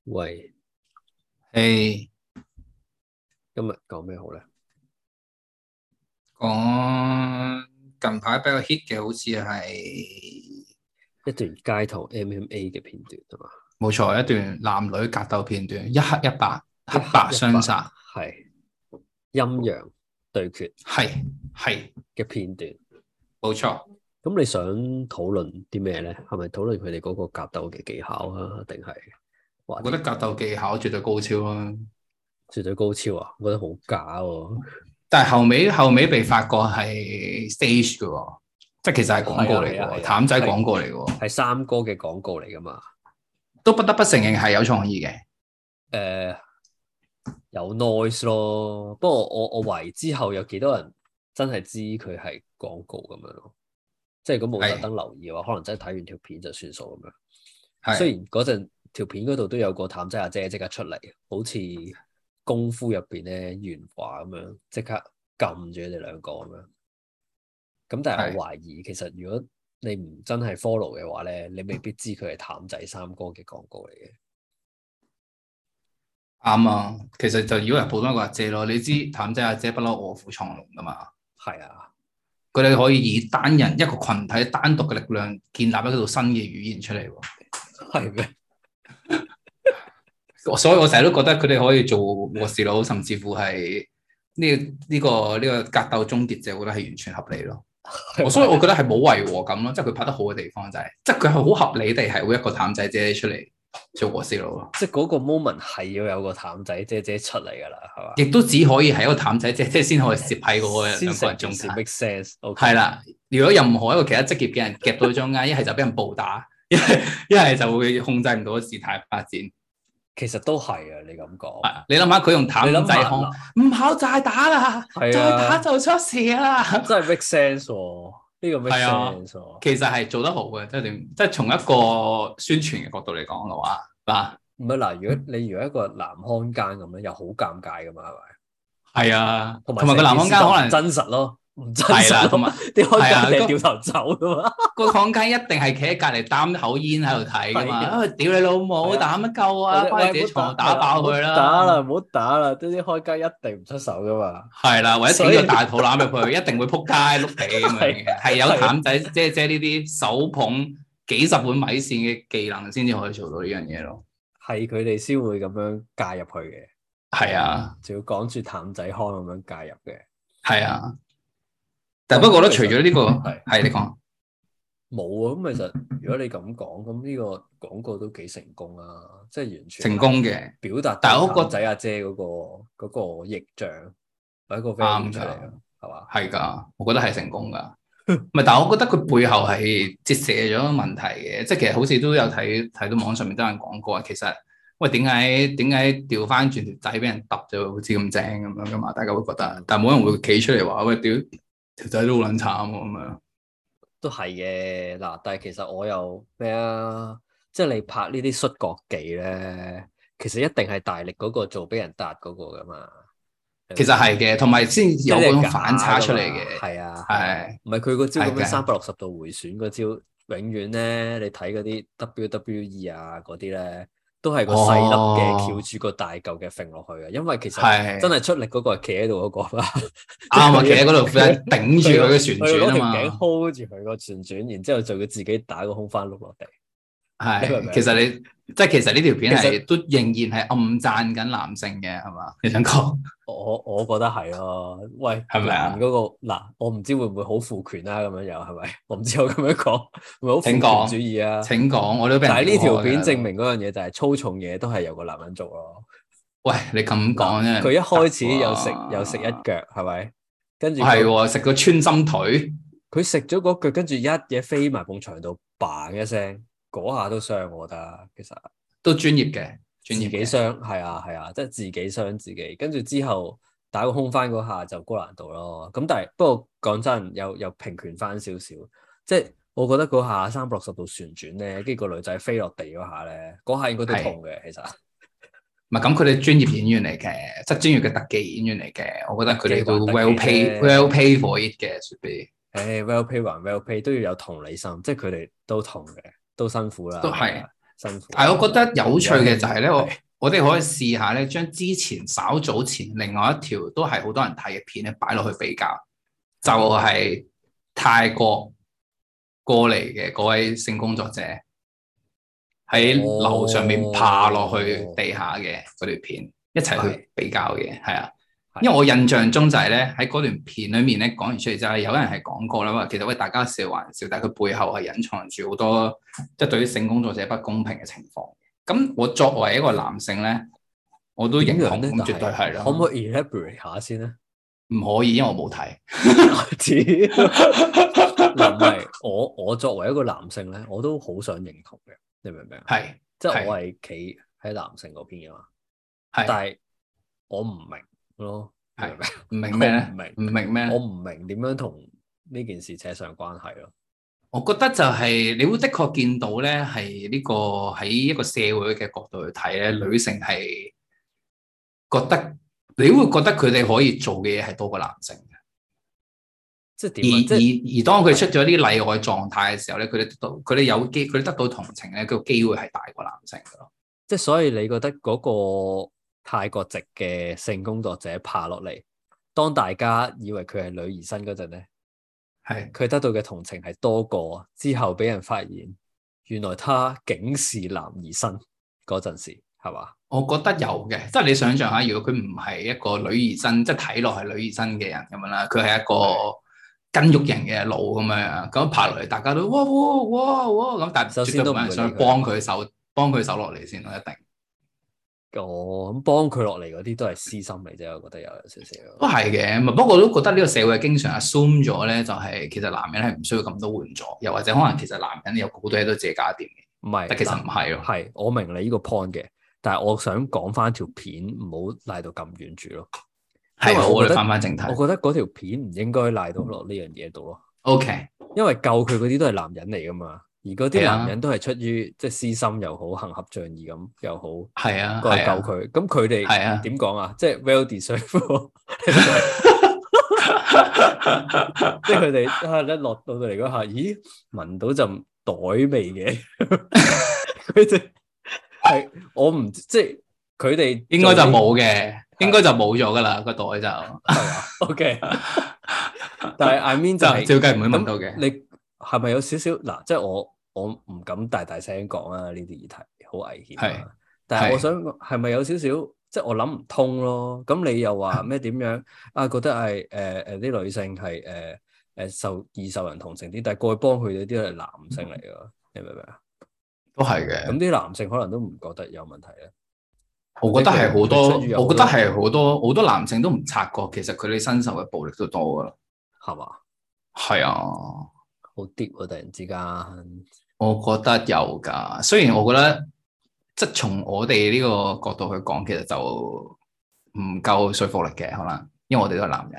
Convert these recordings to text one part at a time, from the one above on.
喂， 誒， 今日講咩好咧？ 講近排比較 hit 嘅，好似係一段街頭 MMA 嘅片段係嘛？ 冇錯，一段男女格鬥片段，一黑一白， 一黑白黑一白相殺， 係陰陽對決係係嘅片段。 冇錯。 咁你想討論啲咩咧？係咪討論佢哋嗰個格鬥嘅技巧啊？定係話啲我覺得格鬥技巧絕對高超啦， 絕對高超啊？我覺得好假喎。 但係後尾被發覺係 stage 嘅喎，即係其實係廣係啊告嚟嘅喎， 係啊係啊， 譚仔廣係告嚟嘅喎， 係三哥嘅廣告嚟噶嘛？ 都不得不承認係有創意嘅。 誒、有 noise 咯。不過我懷疑之後有幾多人真係知佢係廣告咁樣咯。即係如果冇特係登留意嘅話，可能真係睇完條片就算數咁樣。雖係然嗰陣條片嗰度都有個譚仔阿姐即刻出嚟，好似功夫入邊咧元華咁樣，即刻撳住佢哋兩個咁樣。咁但係我係懷疑，其實如果你唔真係 follow 嘅話咧，你未必知佢係譚仔三哥嘅廣告嚟嘅。 啱啊。其實就以為普通一個阿姐咯，你知譚仔阿姐不嬲臥虎藏龍噶嘛。 係啊， 佢哋可以以單人一個群體單獨嘅力量建立一套新嘅語言出嚟喎， 係咩？ 所以我成日都覺得佢哋可以做和事佬，甚至乎係呢個格鬥終結者，我覺得係完全合理咯。所以我覺得係冇違和感咯，即係佢拍得好嘅地方就係、即係佢係好合理地係會一個譚仔姐出嚟做和事佬咯， 即係嗰個 moment 係要有個譚仔姐姐出嚟㗎啦，係嘛？ 亦都只可以係一個譚仔姐姐先可以攝喺嗰個先兩個成件事人中間。 make sense。OK， 係啦，如果任何一個其他職業嘅人夾到中間，一係就俾人暴打，一係就會控制唔到個事態發展。 其實都係啊，你咁講。 你諗下佢用你諗下譚仔康， 嗱， 唔好再打啦， 係再打啊， 就出事啦。 真係 make sense 喎，呢個 make 係啊， sense 喎。 其實係做得好嘅，即係點？即係從一個宣傳嘅角度嚟講嘅話，嗱， 唔係嗱，如果一個男看更咁樣，又好尷尬噶嘛，係咪？ 係啊， 同埋同埋個男成件事就唔康間可能真實咯，唔真係啦， 實咯， 同埋啲看係啊， 更你係掉頭走噶嘛。 個康間一定係企喺隔離擔口煙喺度睇噶嘛。 係啊， 啊，屌你老母， 係啊， 打乜鳩啊？ 或者喂， 翻去自己唔好打， 床度打爆佢唔好打啦， 啦。 唔好打啦，啲看更一定唔出手噶嘛。 係啦，或者所以整個大肚腩入去，一定會撲街碌地咁樣係嘅，係有係啊， 譚仔姐呢啲手捧幾十碗米線嘅技能先至可以做到呢樣嘢咯。 係佢哋先會咁樣介入去嘅， 係啊， 仲要講住譚仔康咁樣介入嘅。 係啊，但係喂， 不過咧， 咁其實除咗呢個係。 係你講冇啊，咁其實如果你咁講，咁呢個廣告都幾成功啊！即係完全成係功嘅， 表達到但係我覺得譚仔阿姐嗰個形象，或者一個 value 啱出嚟啊， 㗎， 係嘛？ 係㗎，我覺得係成功㗎。唔係，但係我覺得佢背後係折射咗問題嘅，即係其實好似都有睇到網上面都有人講過，其實喂點解調翻轉條仔俾人揼咗好似咁正咁樣㗎嘛？大家會覺得，但係冇人會企出嚟話喂屌條仔都好撚慘喎咁樣。 都係嘅嗱，但係其實我又咩啊？即係你拍呢啲摔角技咧，其實一定係大力嗰個做俾人撻嗰個噶嘛，係咪其實先？ 係嘅，同埋先有嗰種即係你係反差出嚟假噶嘛？ 嘅， 係啊係啊， 係唔係佢個招咁樣係嘅， 360度回旋嗰招，永遠咧你睇嗰啲 WWE 啊嗰啲咧，都係個細粒嘅哦， 翹住個大嚿嘅揈落去嘅，因為其實真係係出力嗰個係企喺度嗰個嘛，即係啱啊，企佢要喺嗰度佢頂住佢嘅旋佢攞條頸轉啊嘛。 hold 住佢個旋轉，然之後就要自己打個空翻碌落地，你明唔係， 明？ 其實呢條片其實係都仍然係暗讚緊男性嘅，係嘛？你想講我覺得係咯，喂， 係咪啊？ 男嗰個嗱，我唔知會唔會好父權啦，咁樣又係咪？我唔知我咁樣講會唔會好父權請講， 主義啊？ 請講，我都俾人但係呢條片屌開㗎證明嗰樣嘢就係粗重嘢都係由個男人做咯。 喂，你咁嗱， 講真係佢一唔得開始有食一喎。 腳係咪？跟住係喎，食個穿心腿， 佢食咗嗰腳，跟住一嘢飛埋埲牆度，bang 一聲，嗰下都傷，我覺得其實都專業嘅， 自己專業嘅。 傷係啊係啊，即係自己傷自己。跟住之後打個空翻嗰下就高難度咯。咁但係不過講真，又平權翻少少，即係我覺得嗰下360度旋轉咧，跟住個女仔飛落地嗰下咧，嗰下應該都痛嘅其實。 唔係咁，佢哋專業演員嚟嘅，即係專業嘅特技演員嚟嘅。我覺得佢哋都特技還特技啫 well pay for it 嘅，should be 誒，well pay 還 well pay 都要有同理心，即係佢哋都痛嘅，都辛苦啦， 都係。 係啊辛苦。 但係我覺得有趣嘅就係咧， 係我哋可以試下咧，將之前稍早前另外一條都係好多人睇嘅片咧擺落去比較，就係泰國過嚟嘅嗰位性工作者喺樓上面爬落去地下嘅嗰條片，一齊去比較嘅，係啊。因為我印象中就係咧喺嗰段片裏面咧講完出嚟之後，有人係講過啦，話其實喂大家笑還笑，但係佢背後係隱藏住好多即係對於性工作者不公平嘅情況。咁我作為一個男性咧，我都認同，咁絕對係啦。 可唔可以 elaborate 下先咧？ 唔可以，因為我冇睇。 嗱，唔係我作為一個男性咧，我都好想認同嘅，你明唔明啊？ 係， 即係我係企喺男性嗰邊嘅嘛。係，但係我唔明咯。 係唔明咩咧？唔明咩？ 我唔明點樣同呢件事扯上關係咯。 我覺得就係你會的確見到咧，係呢個喺一個社會嘅角度去睇咧，女性係覺得你會覺得佢哋可以做嘅嘢係多過男性嘅。 即係點？ 而當佢出咗啲例外狀態嘅時候咧，佢哋得到同情咧，個機會係大過男性嘅咯。 即係所以你覺得嗰個泰國籍嘅性工作者爬落嚟，當大家以為佢係女兒身嗰陣咧，係佢得到嘅同情係多過之後俾人發現原來他竟是男兒身嗰陣時，係嘛？ 我覺得有嘅，即係你想象下，如果佢唔係一個女兒身，即係睇落係女兒身嘅人咁樣啦，佢係一個筋肉型嘅腦咁樣，咁爬落嚟，大家都哇咁，但係絕對冇人想幫佢手落嚟先咯，一定。 咁幫佢落嚟嗰啲都係私心嚟啫，我覺得有少少。 都係嘅，不過我都覺得呢個社會經常 assume 咗咧，就係其實男人係唔需要咁多援助，又或者可能其實男人有好多嘢都自己搞掂嘅。唔係，但其實唔係咯。 係，我明你呢個 point 嘅，但係我想講翻條片，唔好賴到咁遠住咯。 係，我哋翻正題。 我覺得嗰條片唔應該賴到落呢樣嘢度咯。 OK， 因為救佢嗰啲都係男人嚟噶嘛。而嗰啲男人都係出於即係私心又好，行俠仗義咁又好， 係啊， 過嚟救佢。咁佢哋點講啊？即係 well deserved，即係佢哋一落到嚟嗰下，咦，聞到陣袋味嘅，佢哋係我唔即係佢哋應該就冇嘅，應該就冇咗噶啦個袋就係嘛 OK， 但係 I mean 就係照計唔會聞到嘅。 你係咪有少少嗱？即係我唔敢大聲講啊！呢啲議題好危險。係，但係我想係咪有少少即係我諗唔通咯？咁你又話咩點樣啊？覺得係啲女性係易受人同情啲，但係過去幫佢嗰啲係男性嚟㗎，你明唔明啊？ 都係嘅。咁啲男性可能都唔覺得有問題咧。 我覺得係好多，我覺得係好多男性都唔察覺，其實佢哋身受嘅暴力都多噶啦， 係嘛？係啊， 好 deep 啊！突然之間， 我覺得有噶。雖然我覺得，即係從我哋呢個角度去講，其實就唔夠說服力嘅，可能因為我哋都係男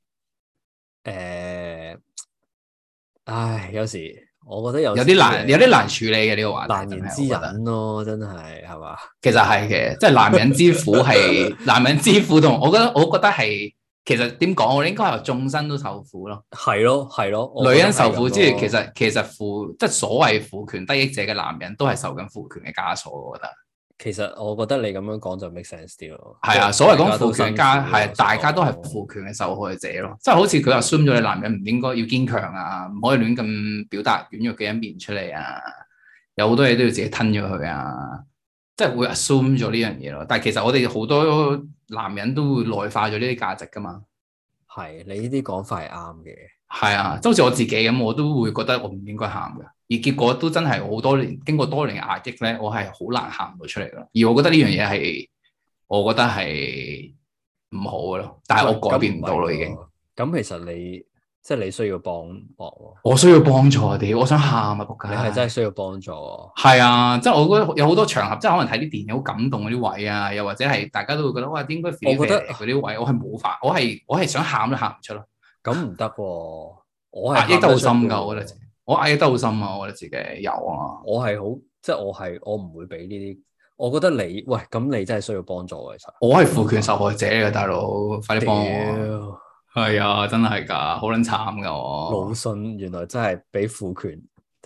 人。唉，有時我覺得有啲難處理嘅呢個話題， 難言之隱咯，真係嘛？ 其實係嘅，即係男人之苦係男人之苦，同我覺得係。其實點講，我哋應該係眾生都受苦咯。 係咯， 女人受苦之餘，其實即係所謂父權得益者嘅男人都係受緊父權嘅枷鎖。我覺得。 其實我覺得你咁樣講就 make sense 啲咯。 係啊，所謂講父權係大家都係父權嘅受害者咯。即係好似佢 assume 咗你男人唔應該要堅強啊，唔可以亂咁表達軟弱嘅一面出嚟啊，有好多嘢都要自己吞咗佢啊。即係會 assume 咗呢樣嘢咯，但係其實我哋好多男人都會內化咗呢啲價值噶嘛。係， 你呢啲講法係啱嘅。 係啊，即好似我自己咁，我都會覺得我唔應該喊嘅，而結果都真係好多年，經過多年嘅壓抑咧，我係好難喊到出嚟咯。而我覺得呢樣嘢係，我覺得係唔好嘅咯。但係我改變唔到咯，已經。 咁其實即係你需要幫忙， 我需要幫助啊！我想喊啊！仆街， 你係真係需要幫助。 係啊，即係我覺得有好多場合，即係可能睇啲電影好感動嗰啲位啊，又或者係大家都會覺得哇，應該 feel 嗰啲位，我係冇法，我係想喊都喊唔出咯。 咁唔得喎，我係壓抑得好深㗎，我覺得我壓抑得好深啊，我覺得自己有啊。 我係好，即係我唔會俾呢啲。我覺得咁你真係需要幫助嘅，其實。我係父權受害者嚟嘅，大佬，快啲幫我。係啊，真係噶，好撚慘噶我。 魯迅原來真係俾父權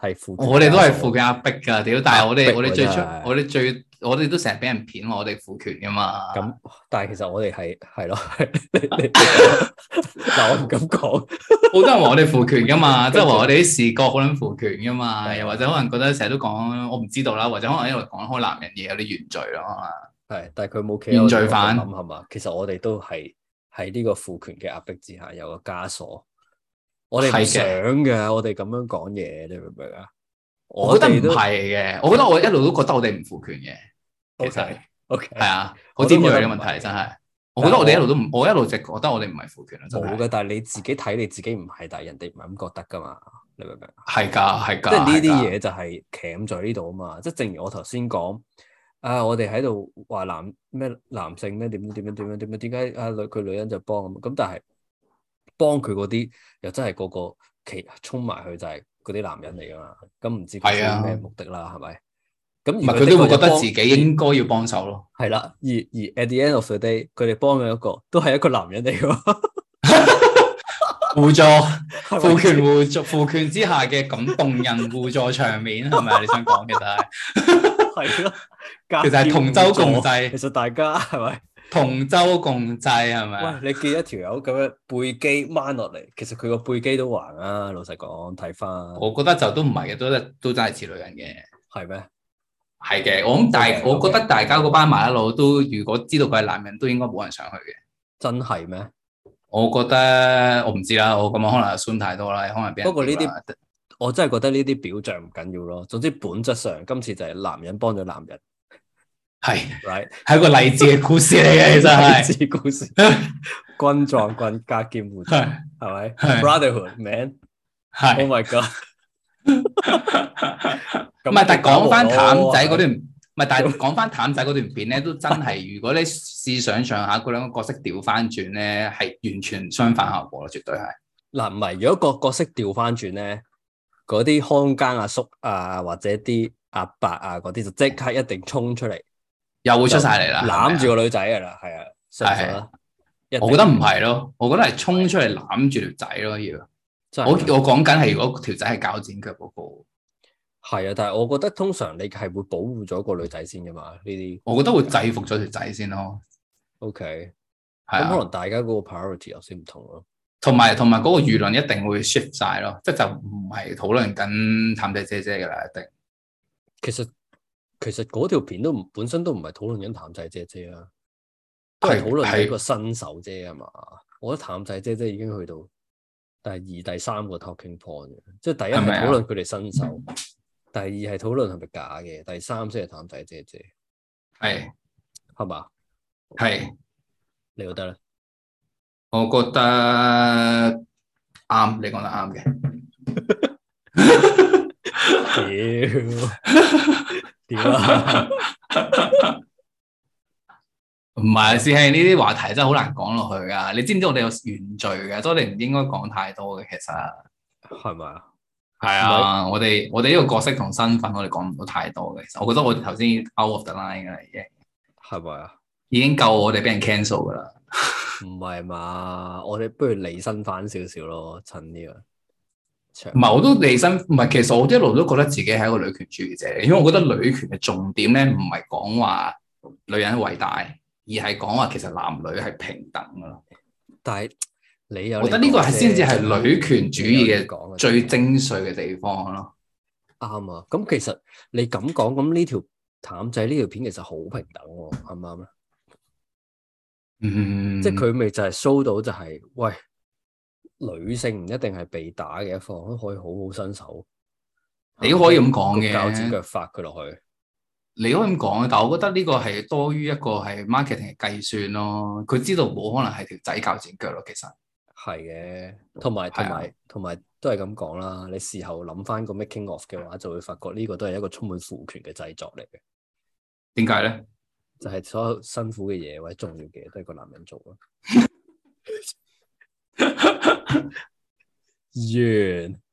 係父權， 我哋都係父權壓迫㗎，屌！但係我哋最出， 真係我哋都成日俾人騙，我哋父權㗎嘛。 咁，但係其實我哋係咯，你嗱我唔敢講， 好多人話我哋父權㗎嘛，即係話我哋啲視覺好撚父權㗎嘛， 係又或者可能覺得成日都講我唔知道啦，或者可能因為講開男人嘢有啲原罪咯。 係，但係佢冇企原罪犯諗係嘛？其實我哋都係喺呢個父權嘅壓迫之下有個枷鎖，我哋唔想嘅，我哋咁樣講嘢，你明唔明啊？ 我覺得唔係嘅，我覺得我一路都覺得我哋唔父權嘅，其實 OK 係啊，好尖鋭嘅問題真係。我覺得我哋一路都唔，我一路直覺得我哋唔係父權啊，真係。 冇嘅，但係你自己睇你自己唔係，但係人哋唔係咁覺得噶嘛，你明唔明？ 係㗎，係㗎。 即係呢啲嘢就係鉗在呢度啊嘛，即係正如我頭先講，我哋喺度話男性咩點樣點解佢女人就幫咁，但係幫佢嗰啲又真係個個衝埋去就係嗰啲男人嚟噶嘛，咁唔知佢有咩目的啦，係咪？咁唔係佢都會覺得自己應該要幫手咯。 係啦，而 at the end of the day，佢哋幫嘅一個都係一個男人嚟噶， 互助父權父權之下嘅咁動人互助場面係咪啊？你想講其實係咯， 其實係同舟共濟。 其實大家係咪同舟共濟係咪？ 喂，你見一條友咁樣背肌掹落嚟，其實佢個背肌都橫啊！老實講，睇翻， 我覺得就都唔係嘅，都真係似女人嘅。 係咩？ 係嘅，我諗我覺得大家嗰班麻甩佬都，如果知道佢係男人，都應該冇人上去嘅。 真係咩？ 我覺得我唔知啦，我咁樣可能 assume 太多啦，可能俾人。 不過呢啲我真係覺得呢啲表象唔緊要咯。總之本質上，今次就係男人幫咗男人， 係 right 係一個勵志嘅故事嚟嘅，其實係勵志故事，軍撞軍加劍互助，係咪 ？Brotherhood man， 係 Oh my god！ 唔係，但係講翻譚仔嗰段，唔係，但係講翻譚仔嗰段片咧，都真係，如果你試想像下，嗰兩個角色調翻轉咧，係完全相反效果咯，絕對係。 嗱，唔係，如果個角色調翻轉咧，嗰啲看更阿叔啊，或者啲阿伯啊嗰啲，就即刻一定衝出嚟， 又會出晒嚟啦， 攬住個女仔噶啦，係啊，係。 我覺得唔係咯，我覺得係衝出嚟攬住條仔咯，要。我講緊係如果條仔係鉸剪腳嗰個。 係啊，但係我覺得通常你係會保護咗個女仔先噶嘛，呢啲。 我覺得會制服咗條仔先咯。 OK， 係啊， 咁可能大家嗰個 priority 有啲唔同咯。 同埋嗰個輿論一定會 shift 晒咯，即係就唔係討論緊譚仔姐姐噶啦，一定。 其實嗰條片本身都唔係討論緊譚仔姐姐啊，都係討論緊個新手啫嘛。我覺得譚仔姐姐已經去到第二、第三個 talking point 嘅，即係第一係討論佢哋新手。第二係討論係咪假嘅，第三先係譚仔姐姐，係嘛？ 係， 你覺得咧？ 我覺得啱，你講得啱嘅。屌啊！ 唔係，師兄，呢啲話題真係好難講落去噶。你知唔知我哋有原罪嘅，所以我哋唔應該講太多嘅。其實係咪啊？ 係啊，我哋呢個角色同身份，我哋講唔到太多嘅。其實我覺得我哋頭先 out of the line 噶啦，已經係咪啊？ 已經夠我哋俾人 cancel 噶啦。 唔係嘛？我哋不如離身翻少少咯，趁呢個。 唔係，我都離身，唔係。其實我一路都覺得自己係一個女權主義者，因為我覺得女權嘅重點咧，唔係講話女人偉大，而係講話其實男女係平等噶咯。 但係你有， 我覺得呢個係先至係女權主義嘅最精髓嘅地方咯。 啱啊！咁其實你咁講，咁呢條譚仔呢條片其實好平等喎，啱唔啱咧？即係佢咪就係 show 到就係，喂，女性唔一定係被打嘅一方，都可以好好伸手。 你可以咁講嘅， 鉸剪腳發佢落去。 你可以咁講，但係我覺得呢個係多於一個係 marketing 嘅計算咯。佢知道冇可能係條仔鉸剪腳咯，其實係嘅，同埋都係咁講啦。你事後諗翻個 making of 嘅話，就會發覺呢個都係一個充滿父權嘅製作嚟嘅。 點解咧？ 就係所有辛苦嘅嘢或者重要嘅嘢都係個男人做咯。完。